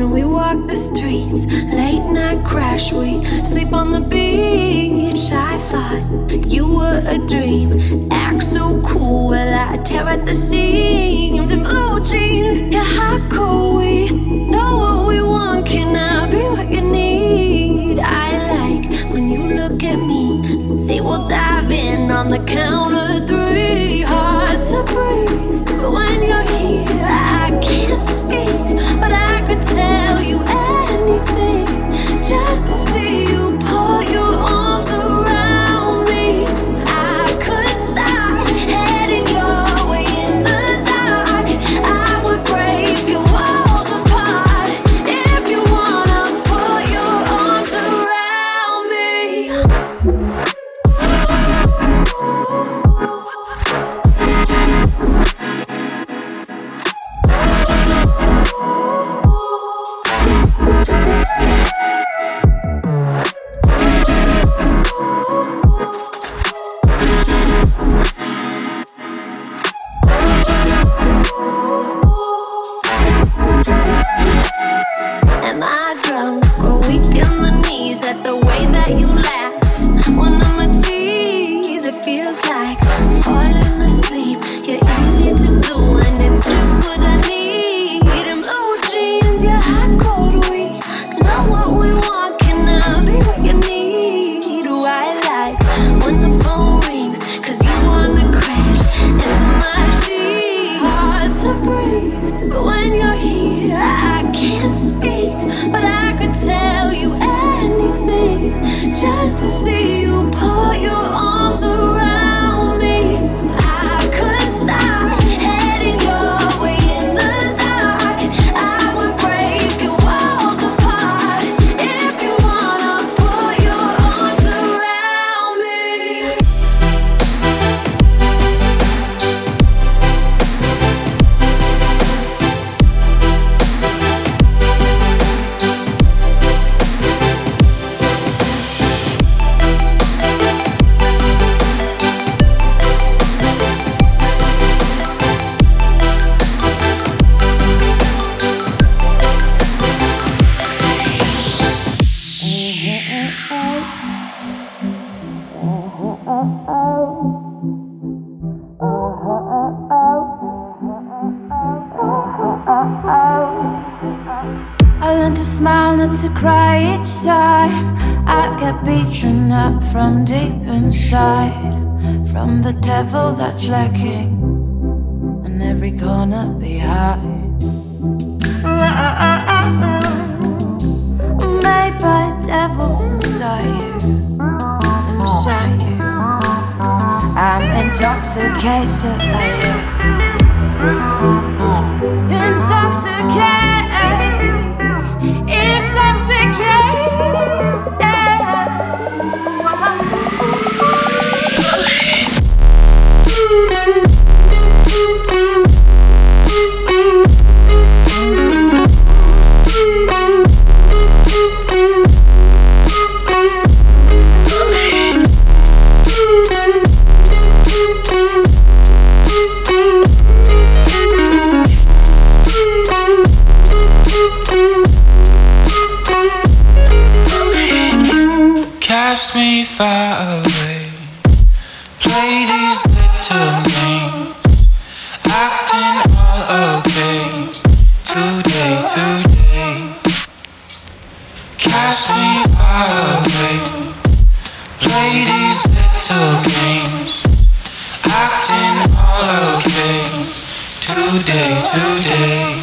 when we walk the streets, late night crash, we sleep on the beach. I thought you were a dream, act so cool, well I tear at the seams. In blue jeans, yeah, how cool, we know what we want. Can I be what you need? I like when you look at me, say we'll dive in on the count of three. Hard to breathe when you're here, I can't speak, but I could tell you anything just to see you put your arms around me. I could start heading your way in the dark. I would break your walls apart if you wanna put your arms around me. Am I drunk or weak in the knees at the way that you laugh? When I'm a tease, it feels like falling asleep. You're easy to do and it's just what I need. In blue jeans, you're hot, cold, we know what we want. Can I be what you need? Do I like when the phone rings, cause you wanna crash into my sheets? Hard to breathe when you're here, I can't speak, but I could tell you anything just to see you put your arms around me. I could start heading your way in the dark. I would break your walls apart if you wanna put your arms around me. I learned to smile, not to cry each time I get beaten up from deep inside, from the devil that's lurking in every corner behind. Made by devils inside you, inside you. I'm intoxicated by you. Intoxicated, intoxicated. Cast me far away, play these little games, acting all okay, today, today. Cast me far away, play these little games, acting all okay, today, today.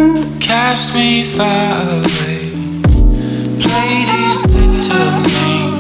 Cast me far away, play these little games,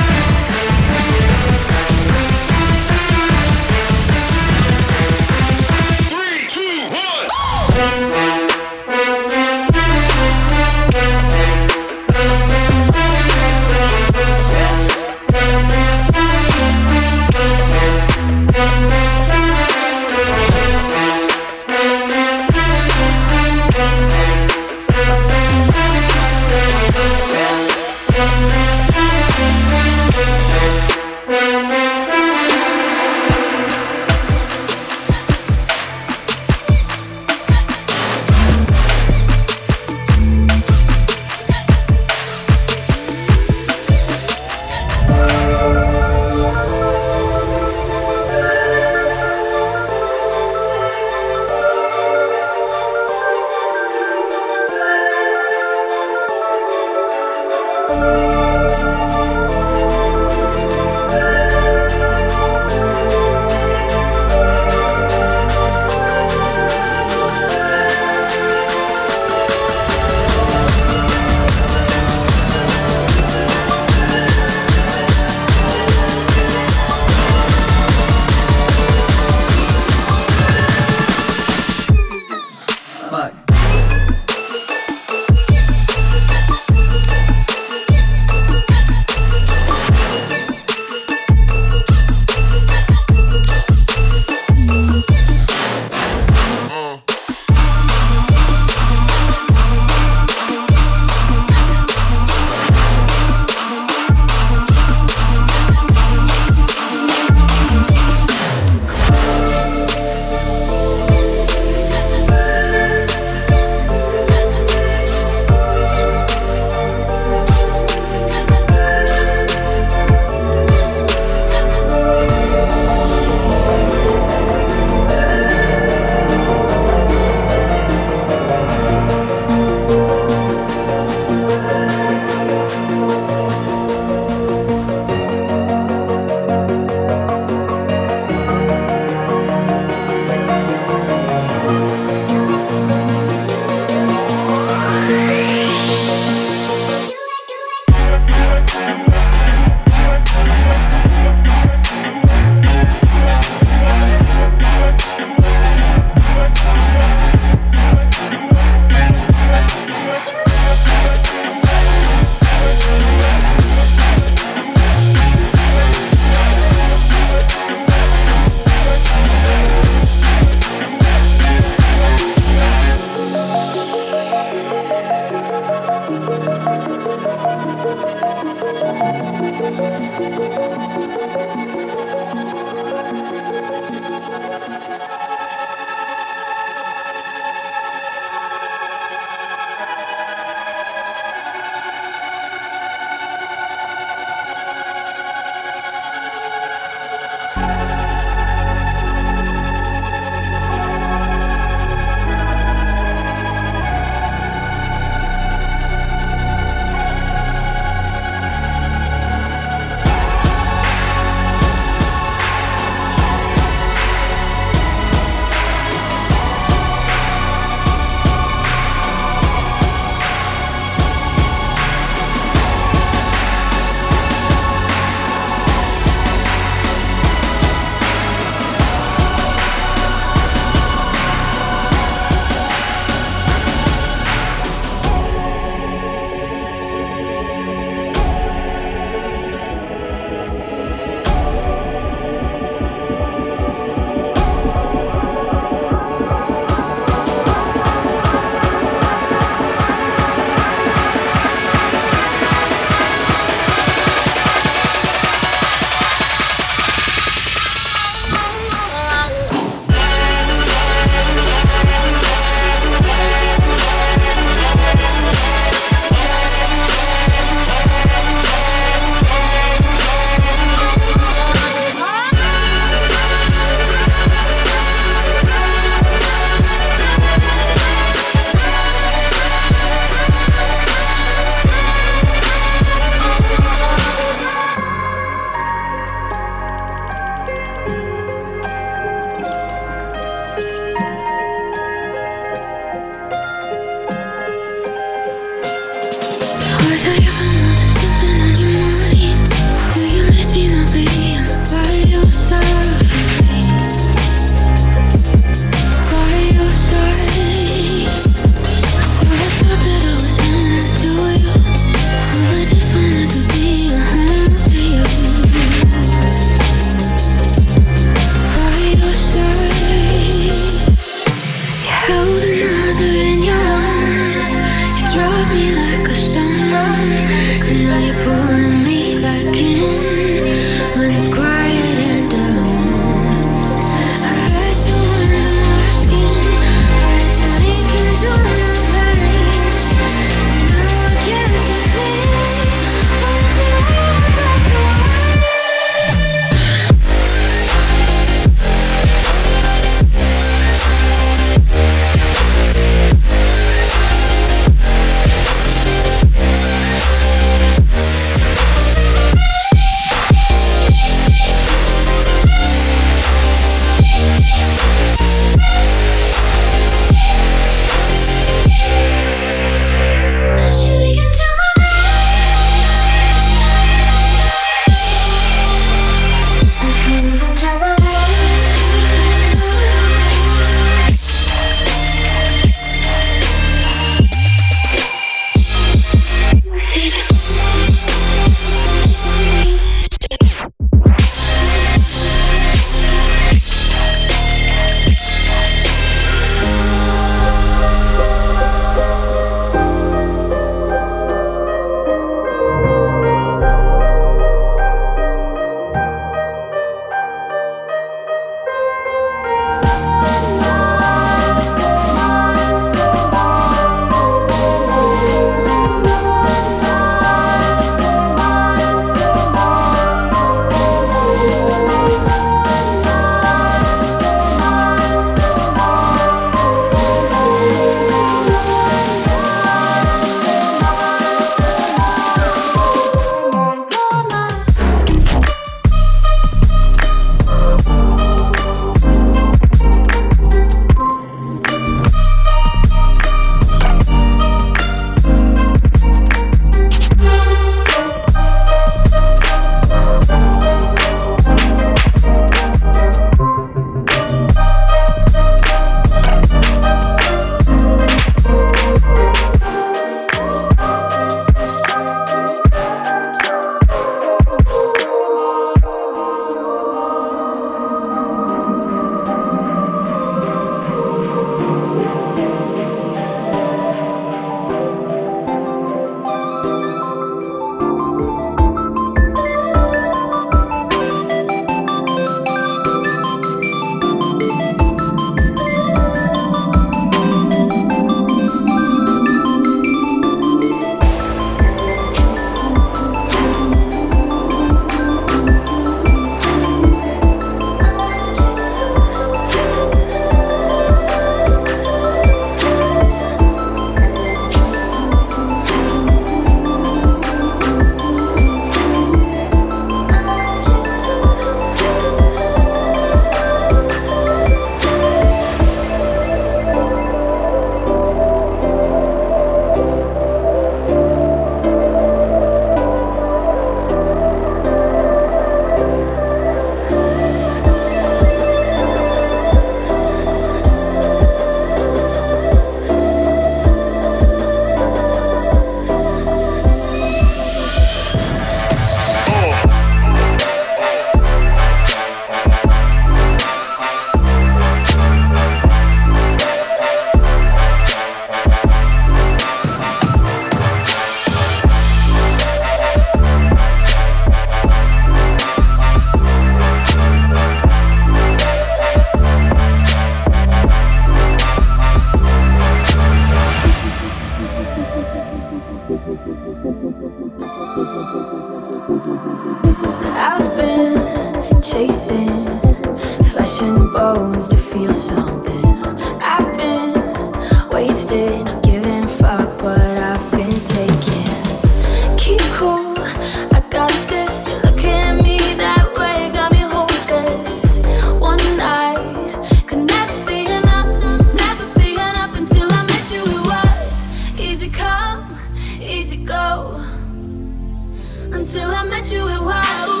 I've been chasing flesh and bones to feel something. I've been wasted, not giving a fuck what I've been taking. Keep cool, I got this. You're looking at me that way, got me hopeless. One night could never be enough until I met you. It was easy come, easy go. Until I met you, it was.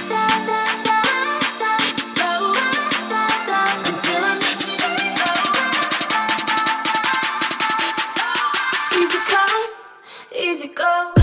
Until I met you, easy come, easy go.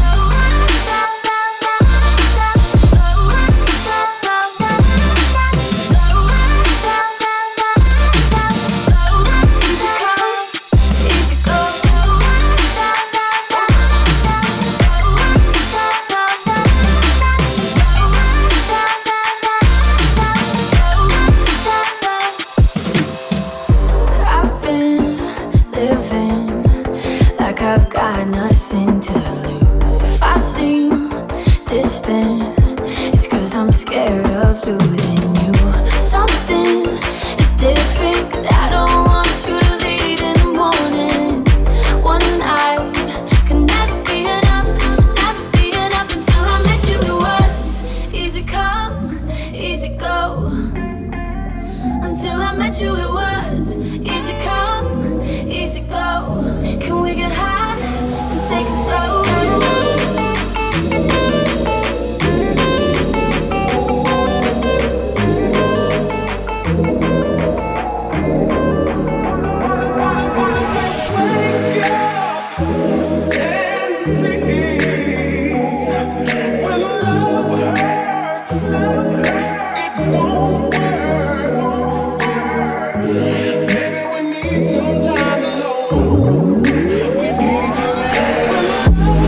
I've got nothing to lose. If I seem distant, it's 'cause I'm scared of losing you. Something is different, 'cause I don't want you to leave in the morning. One night can never be enough until I met you. It was easy come, easy go. Until I met you, it was easy come, easy go. Can we get high and take it slow? Some time alone. We need to let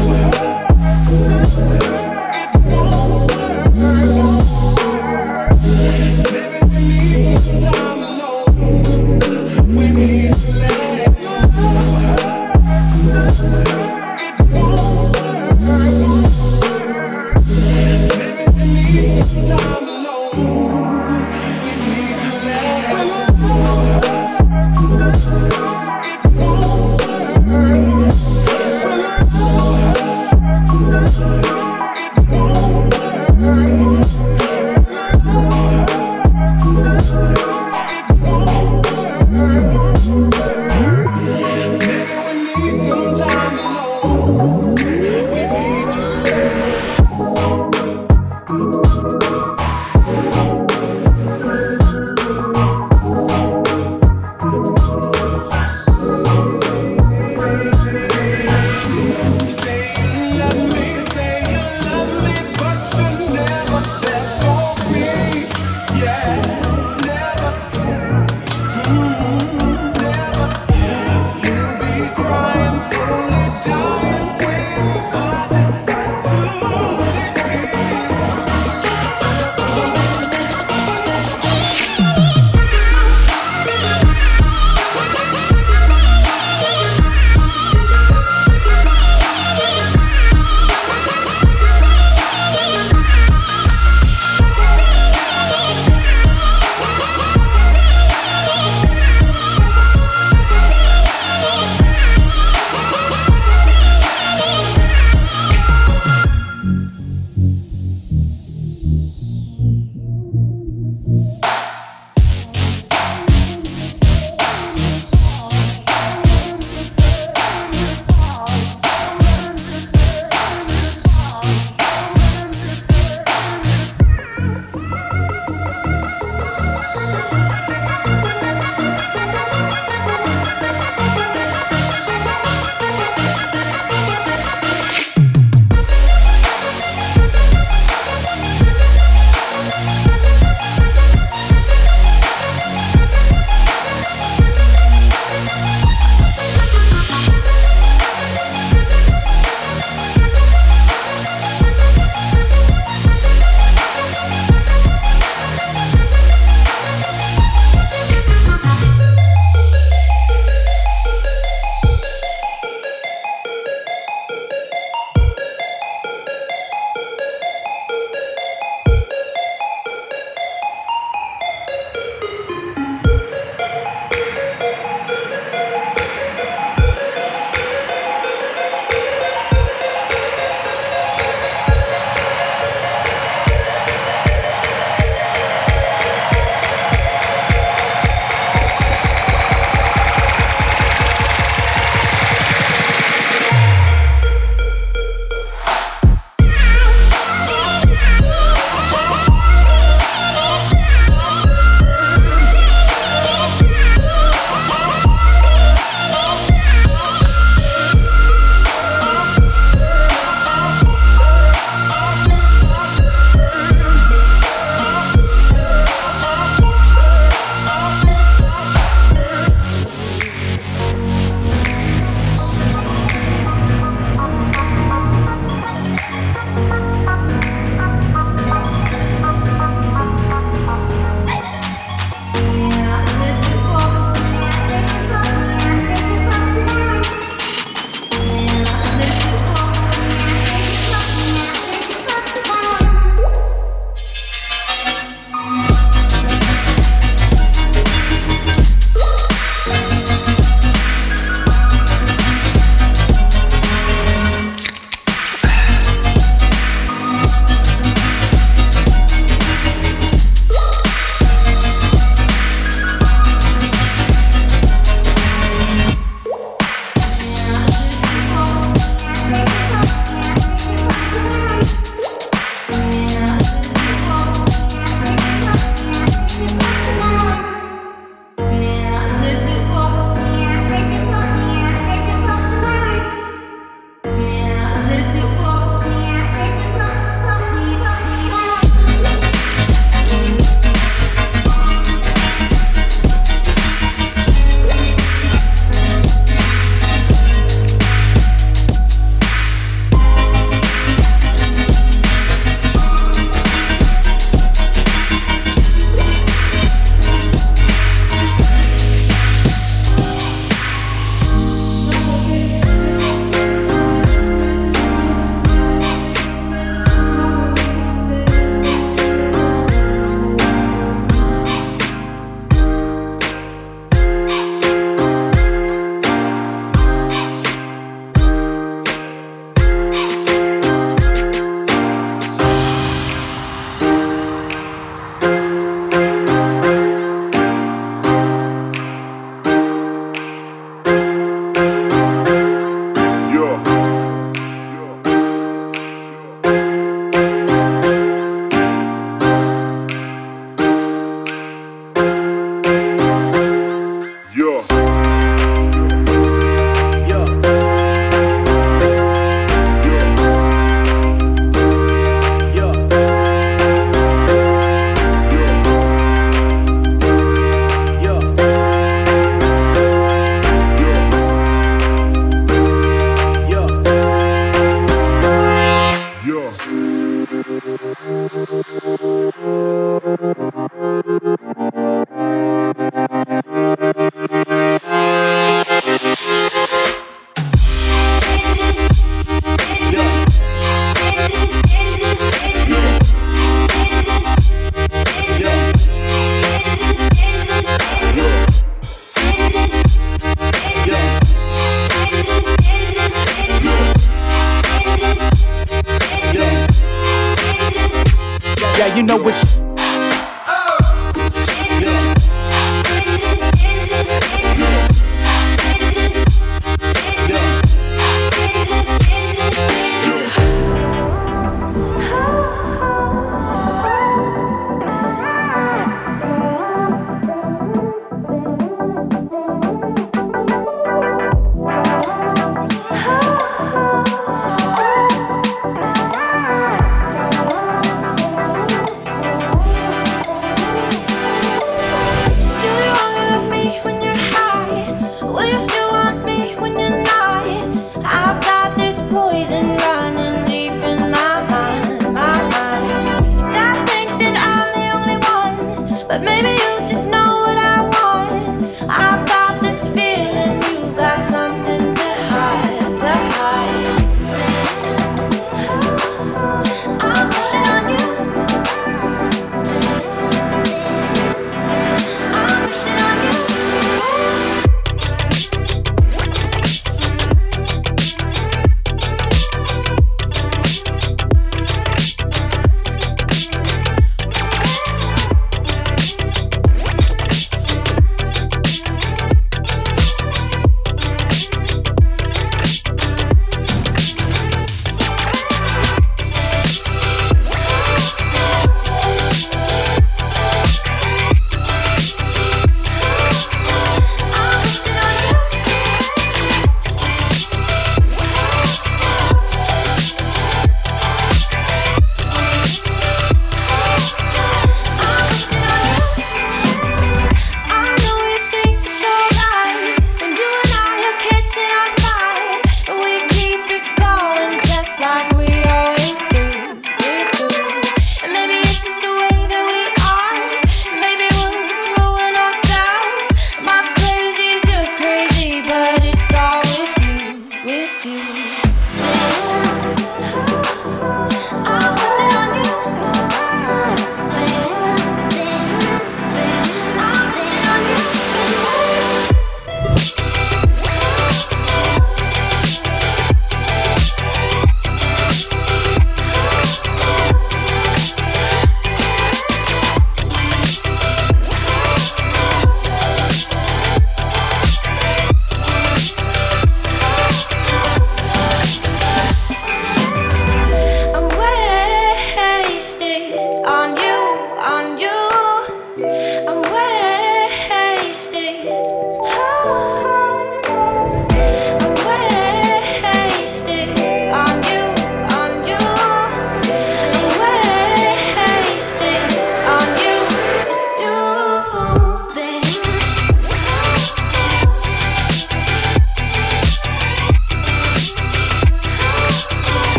Yeah, you know what.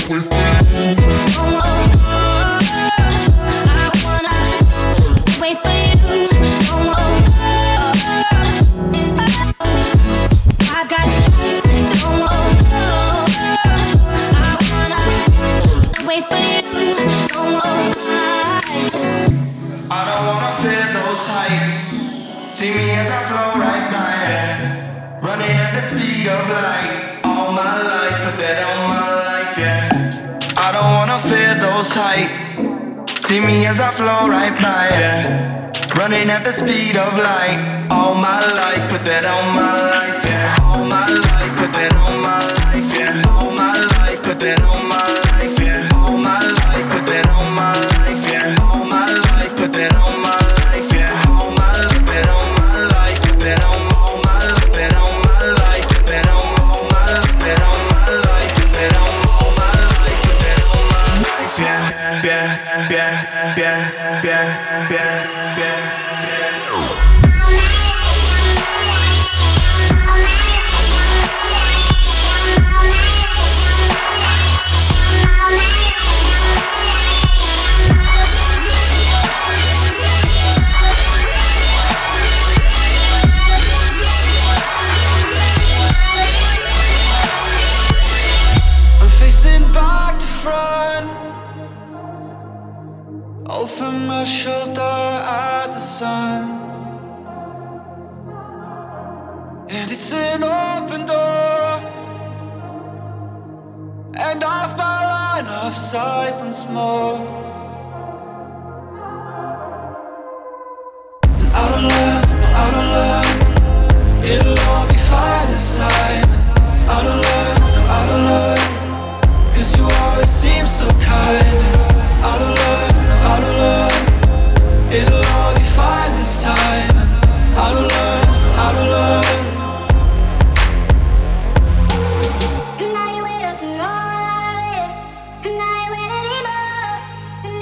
See me as I flow right by, yeah. Running at the speed of light. All my life, put that on my life, yeah. I don't wanna fear those heights. See me as I flow right by, yeah. Running at the speed of light. All my life, put that on my life, yeah. All my life, put that on my life, yeah. All my life, put that on my life, yeah. All my life, put that on my life, yeah. All my life, put that on my life, yeah. All my life, put that on my life, put that on all my life, put that on my life, put that on all my life, put that on my life, put that on all my life, put that on my life, yeah, yeah, yeah, yeah, yeah, yeah, yeah. Over my shoulder at the sun, and it's an open door, and off my line of sight once more. And I don't learn, it'll all be fine this time. I don't learn, 'cause you always seem so kind. I don't learn, it'll all be fine this time. I don't learn. And now you wait up and all I live. And now you wait anymore. And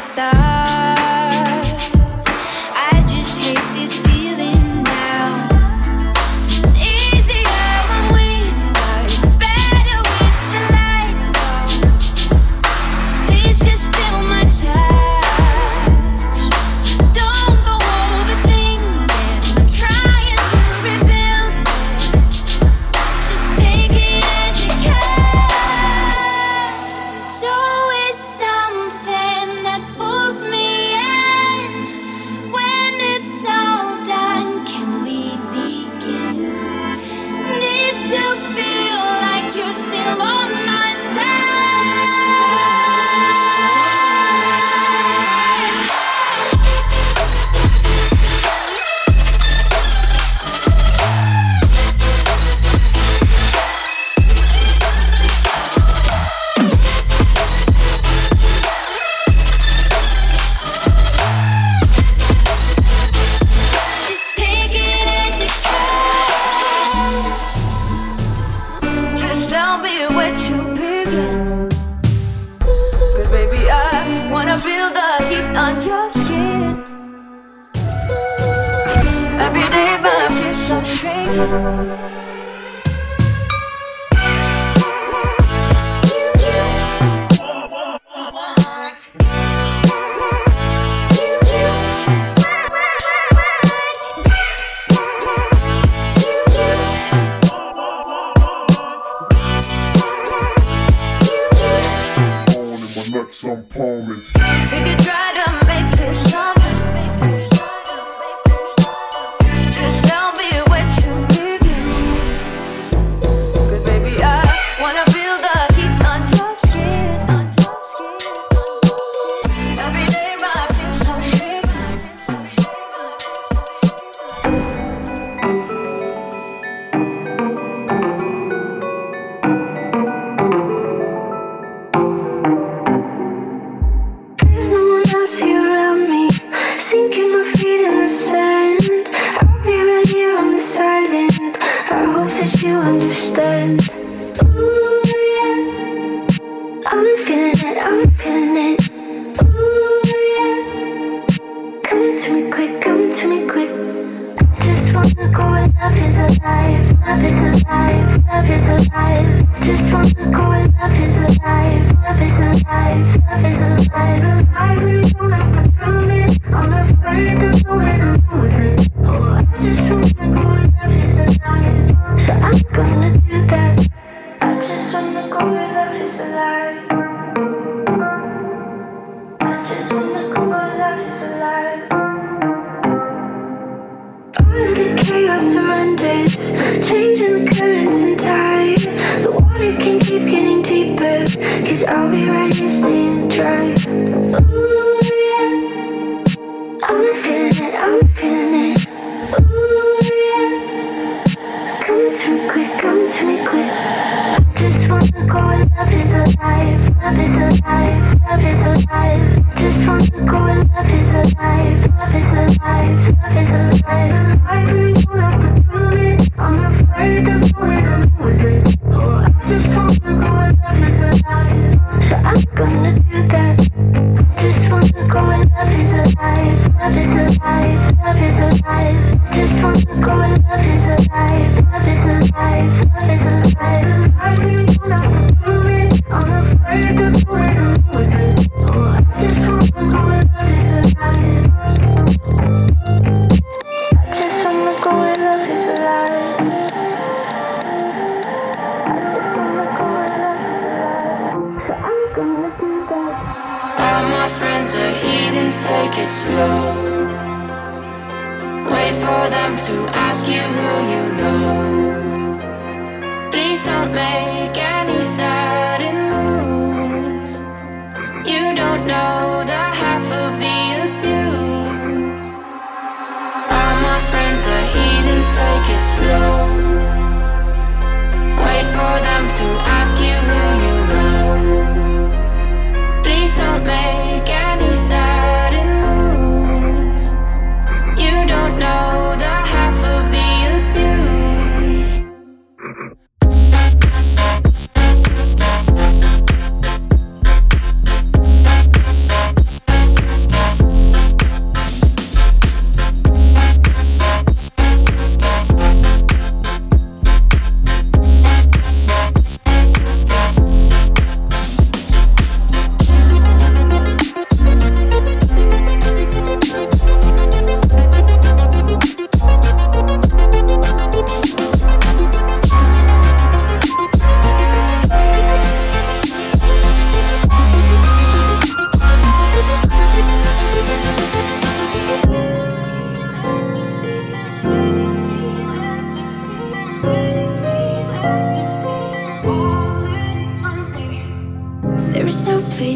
start. I just hate this feeling now. It's easier when we start. It's better with the lights on. Please just steal my touch. Don't go overthinking. I'm trying to rebuild this. Just take it as it comes. There's always something that pulls me in. When it's all done, can we begin? Need to feel like you're still on my side. Just take it as it comes. Just tell me where to begin. 'Cause baby, I wanna feel the heat on your skin. Every day my feels so strange. Some palming. We could try to make this something. Just tell me where to begin. 'Cause baby, I wanna feel the heat on your skin. Every day my feels so strange. There's no one else here around me, sinking my feet in the sand. I'll be right here on this island. I hope that you understand. Ooh, yeah. I'm feeling it, I'm feeling it. Ooh, yeah. Come to me quick, come to me quick. I just wanna go where love is alive. Love is alive, love is alive. I just wanna go where love is alive. Love is alive, love is alive. I really don't have to prove it. I'm afraid there's nowhere to lose it. Oh, I just wanna go where love is alive. So I'm gonna do that. I just wanna go where love is alive. I just wanna go where love is alive. All of the chaos surrenders, changing the currents and tide. The water can keep getting deeper, 'cause I'll be right here staying dry. Ooh, yeah. I'm feeling it, I'm feeling it. Ooh, yeah. Come to me quick, come to me quick. I just wanna go where love is alive. Love is alive, love is alive. I just wanna go where love is alive. Love is alive, love is alive. I really don't have to prove it. I'm afraid there's nowhere to lose it. Oh, I just wanna go where love is alive. So I'm gonna do that. I just wanna go where love is alive. Love is alive, love is alive. I just wanna go where love is alive. Love is alive, love is alive. I really don't have to prove it. I'm afraid there's nowhere to lose it. Oh, I just wanna go where love is alive. I just wanna go where love is alive. I just wanna go where love is alive. So I'm gonna do that. All my friends are heathens, take it slow. Wait for them to ask you who you know. Please don't make any sudden moves. You don't know the half of the abuse. All my friends are heathens, take it slow. Wait for them to ask you who you know. Please don't make any sudden moves. You don't know the half of the abuse.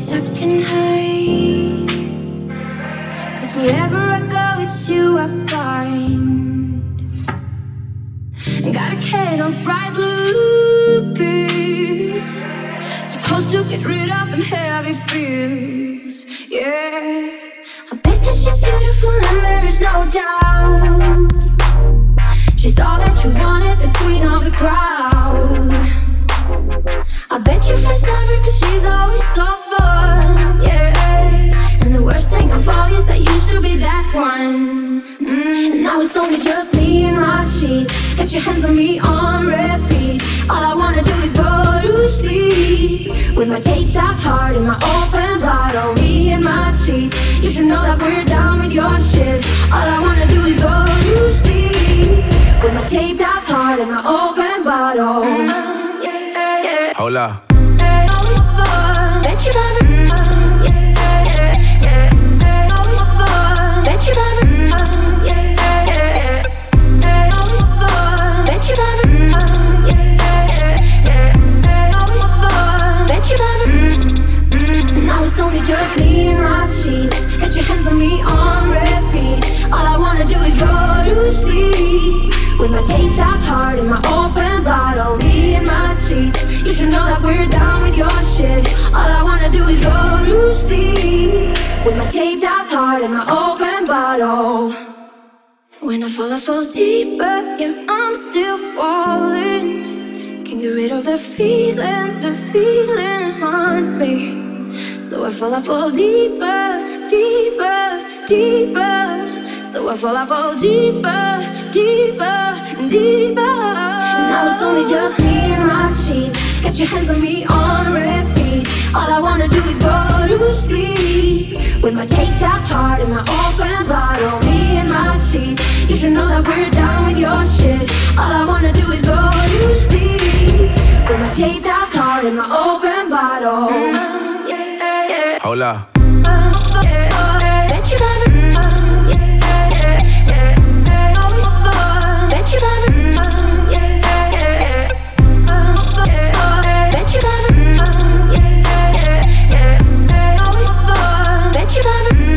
place I can hide. 'Cause wherever I go, it's you I find. And got a can of bright blue pills, supposed to get rid of them heavy fears. Yeah, I bet that she's beautiful and there is no doubt. She's all that you wanted, the queen of the crowd. I bet you first love her 'cause she's always so fun, yeah. And the worst thing of all is I used to be that one. And now it's only just me and my sheets. Get your hands on me on repeat. All I wanna do is go to sleep with my taped up heart and my open bottle. Me and my sheets. You should know that we're down with your shit. All I wanna do is go to sleep with my taped up heart and my open bottle. Hold up. Bet you love it. Bet you love it. Bet you love it. Bet you love it. Now it's only just me and my sheets. Get your hands on me on repeat. All I wanna do is go to sleep with my taped up heart and my open bottle. Me and my sheets. You should know that we're down with your shit. All I wanna do is go to sleep with my taped up heart and my open bottle. When I fall deeper, yeah, I'm still falling. Can't get rid of the feeling haunt me. So I fall deeper, deeper, deeper. So I fall deeper, deeper, deeper. Now it's only just me and my sheets. Get your hands on me on repeat. All I wanna do is go to sleep with my taped up heart and my open bottle. Me and my sheets. You should know that we're down with your shit. All I wanna do is go to sleep with my taped up heart and my open bottle. Hold up. Bet you love it. Bet you love it. Bet you love it. Bet you love it.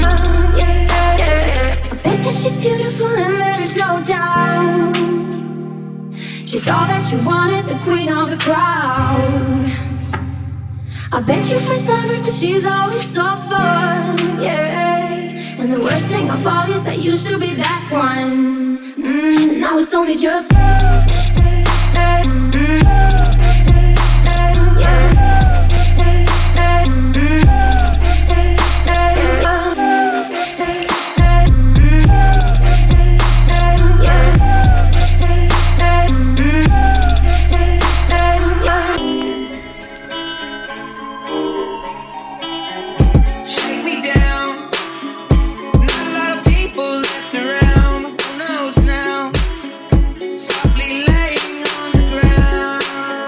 I bet that she's beautiful and there is no doubt. She's all that you wanted, the queen of the crowd. I bet you first love her 'cause she's always so fun, yeah. And the worst thing of all is I used to be that one. And now it's only just Softly laying on the ground.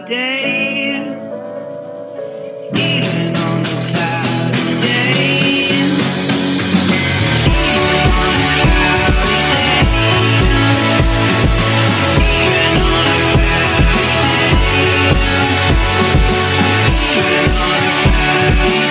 day, even on a cloudy day, even on a cloudy day, even on a cloudy day, even on a cloudy day.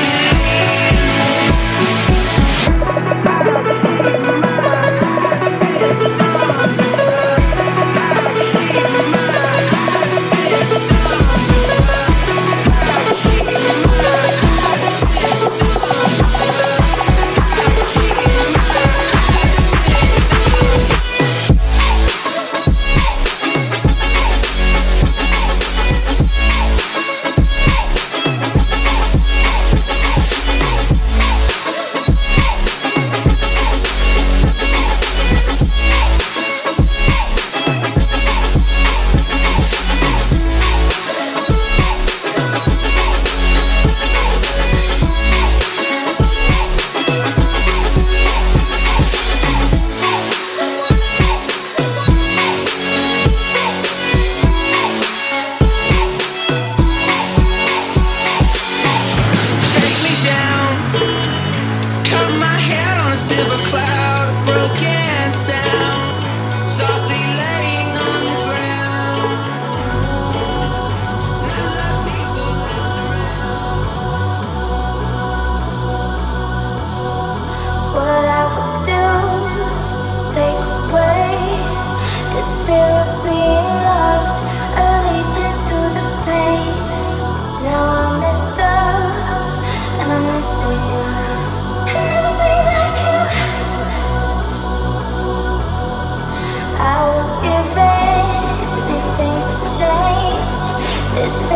This